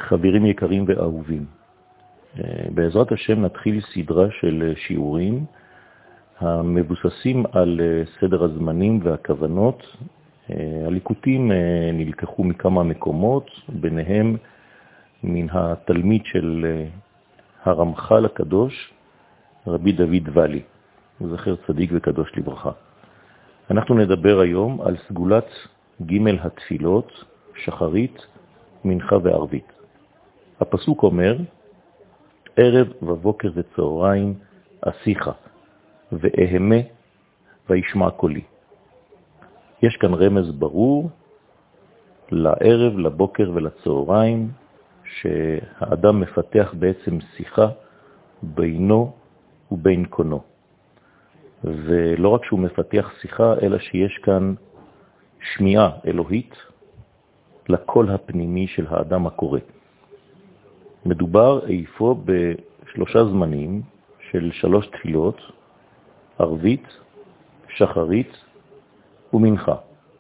חברים יקרים ואהובים, בעזרת השם נתחיל סדרה של שיעורים המבוססים על סדר הזמנים והכוונות. הליקוטים נלקחו מכמה מקומות, ביניהם מן התלמיד של הרמח"ל הקדוש, רבי דוד ואלי, זכר צדיק וקדוש לברכה. אנחנו נדבר היום על סגולת ג' התפילות, שחרית, מנחה וערבית. הפסוק אומר, ערב ובוקר וצהריים אשיך, ואהמה וישמע קולי. יש כאן רמז ברור לערב, לבוקר ולצהריים, שהאדם מפתח בעצם שיחה בינו ובין קונו. ולא רק שהוא מפתח שיחה, אלא שיש כאן שמיעה אלוהית לקול הפנימי של האדם הקורא. מדובר איפה בשלושה זמנים של 3 תפילות, ערבית, שחרית ומנחה.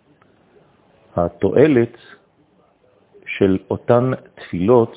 התועלת של אותן תפילות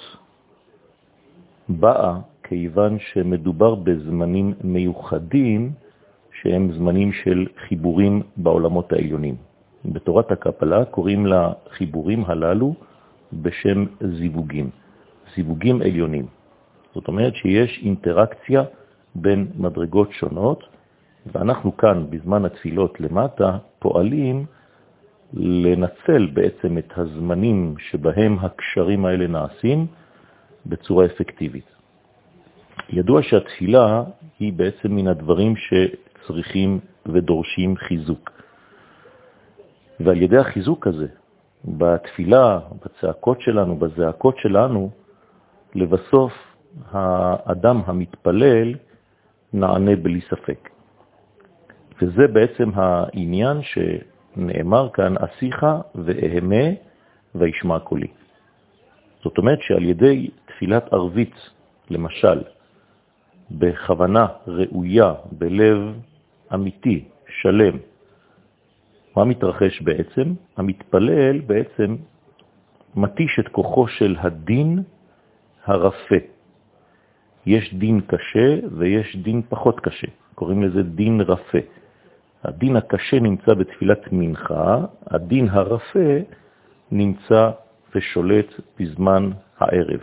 באה כיוון שמדובר בזמנים מיוחדים שהם זמנים של חיבורים בעולמות העליונים. בתורת הקבלה קוראים לחיבורים הללו בשם זיווגים, זיווגים עליונים. זאת אומרת שיש אינטראקציה בין מדרגות שונות, ואנחנו כאן בזמן התפילות למטה פועלים לנצל בעצם את הזמנים שבהם הקשרים האלה נעשים בצורה אפקטיבית. ידוע שהתפילה היא בעצם מן הדברים שצריכים ודורשים חיזוק. ועל ידי החיזוק הזה, בתפילה, בצעקות שלנו, בזעקות שלנו, לבסוף האדם המתפלל נענה בלי ספק. וזה בעצם העניין שנאמר כאן, אשיך ואהמה וישמע קולי. זאת אומרת שעל ידי תפילת ערבית, למשל, בכוונה ראויה, בלב אמיתי, שלם, מה מתרחש בעצם? המתפלל בעצם מתיש את כוחו של הדין הרפה. יש דין קשה ויש דין פחות קשה. קוראים לזה דין רפה. הדין הקשה נמצא בתפילת מנחה, הדין הרפה נמצא ושולט בזמן הערב.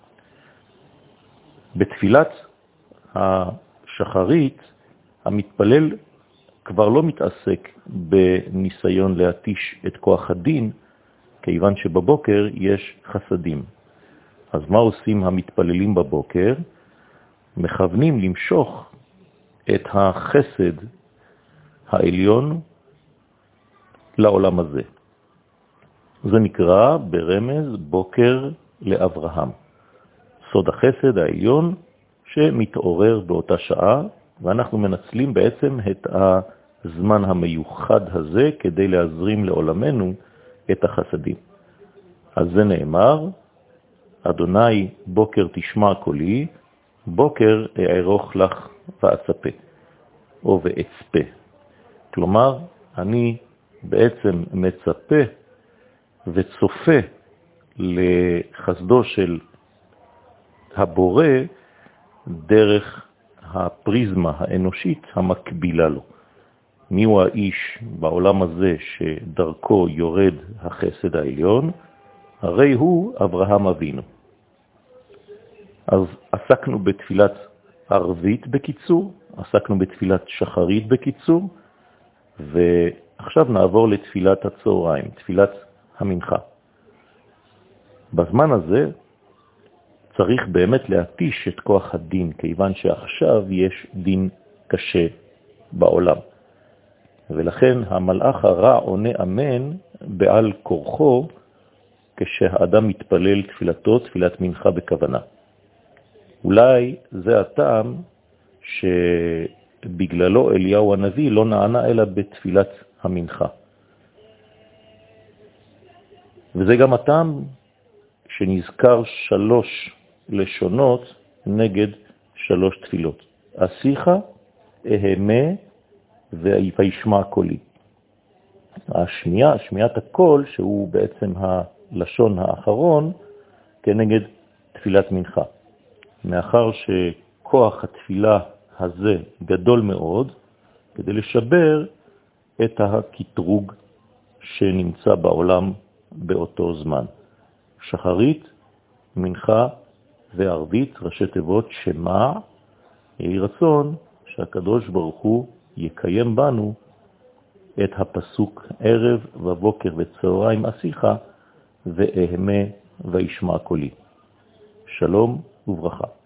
בתפילת השחרית המתפלל כבר לא מתעסק בניסיון להתיש את כוח הדין, כיוון שבבוקר יש חסדים. אז מה עושים המתפללים בבוקר? מכוונים למשוך את החסד העליון לעולם הזה. זה נקרא ברמז בוקר לאברהם. סוד החסד העליון שמתעורר באותה שעה, ואנחנו מנצלים בעצם את הזמן המיוחד הזה כדי להזרים לעולמנו את החסדים. אז זה נאמר, אדוני בוקר תשמע קולי, בוקר אערוך לך ואצפה, או ואצפה. כלומר, אני בעצם מצפה וצופה לחסדו של הבורא דרך הפריזמה האנושית המקבילה לו. מי הוא האיש בעולם הזה שדרכו יורד החסד העליון? הרי הוא אברהם אבינו. אז עסקנו בתפילת ערבית בקיצור, עסקנו בתפילת שחרית בקיצור, ועכשיו נעבור לתפילת הצהריים, תפילת המנחה. בזמן הזה צריך באמת להתיש את כוח הדין, כיוון שעכשיו יש דין קשה בעולם. ולכן המלאך הרע עונה אמן בעל כורחו, כשהאדם מתפלל תפילתו, תפילת מנחה בכוונה. אולי זה הטעם שבגללו אליהו הנביא לא נענה אלא בתפילת המנחה. וזה גם הטעם שנזכר 3 לשונות נגד 3 תפילות. אשיך, אהמה וישמע קולי. השמיעת הקול, שהוא בעצם הלשון האחרון, כנגד תפילת מנחה. מאחר שכוח התפילה הזה גדול מאוד, כדי לשבר את הקטרוג שנמצא בעולם באותו זמן. שחרית, מנחה וערבית, ראשי תיבות שמה, יהי רצון שהקדוש ברוך הוא יקיים בנו את הפסוק ערב ובוקר וצהריים עשיך ואהמה וישמע קולי. שלום וברכה.